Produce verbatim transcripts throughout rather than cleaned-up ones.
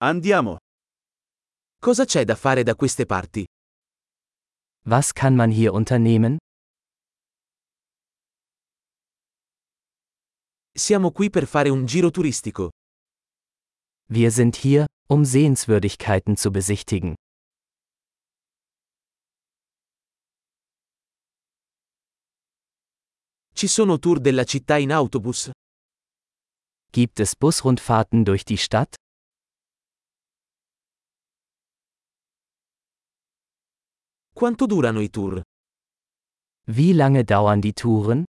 Andiamo. Cosa c'è da fare da queste parti? Was kann man hier unternehmen? Siamo qui per fare un giro turistico. Wir sind hier, um Sehenswürdigkeiten zu besichtigen. Ci sono tour della città in autobus? Gibt es Busrundfahrten durch die Stadt? Quanto durano i tour? Wie lange dauern die Touren?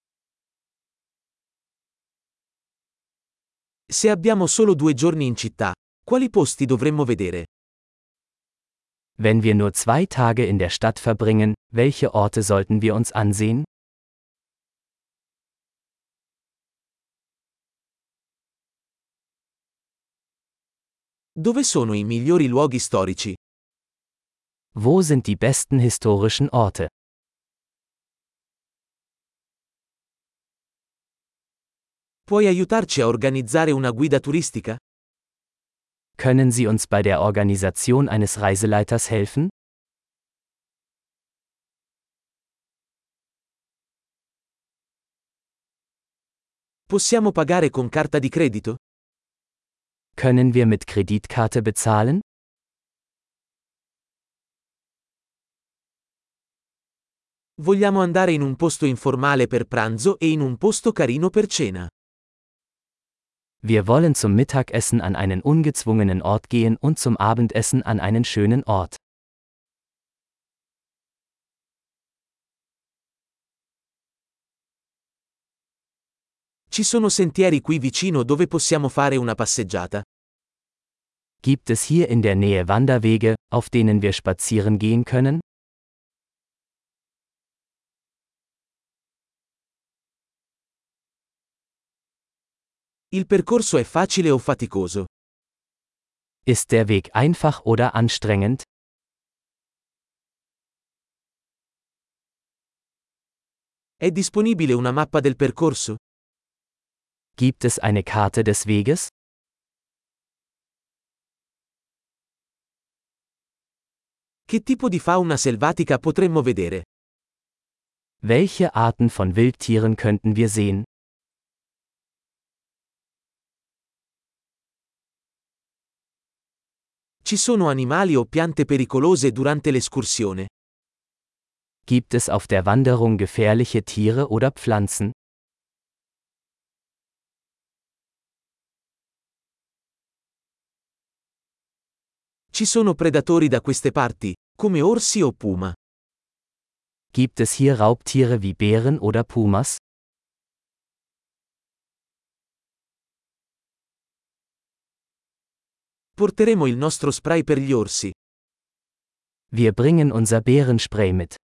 Se abbiamo solo due giorni in città, quali posti dovremmo vedere? Wenn wir nur zwei Tage in der Stadt verbringen, welche Orte sollten wir uns ansehen? Dove sono i migliori luoghi storici? Wo sind die besten historischen Orte? Puoi aiutarci a organizzare una guida turistica? Können Sie uns bei der Organisation eines Reiseleiters helfen? Possiamo pagare con carta di credito? Können wir mit Kreditkarte bezahlen? Vogliamo andare in un posto informale per pranzo e in un posto carino per cena. Wir wollen zum Mittagessen an einen ungezwungenen Ort gehen und zum Abendessen an einen schönen Ort. Ci sono sentieri qui vicino dove possiamo fare una passeggiata? Gibt es hier in der Nähe Wanderwege, auf denen wir spazieren gehen können? Il percorso è facile o faticoso? Ist der Weg einfach oder anstrengend? È disponibile una mappa del percorso? Gibt es eine Karte des Weges? Che tipo di fauna selvatica potremmo vedere? Welche Arten von Wildtieren könnten wir sehen? Ci sono animali o piante pericolose durante l'escursione? Gibt es auf der Wanderung gefährliche Tiere oder Pflanzen? Ci sono predatori da queste parti, come orsi o puma? Gibt es hier Raubtiere wie Bären oder Pumas? Porteremo il nostro spray per gli orsi. Wir bringen unser Bärenspray mit.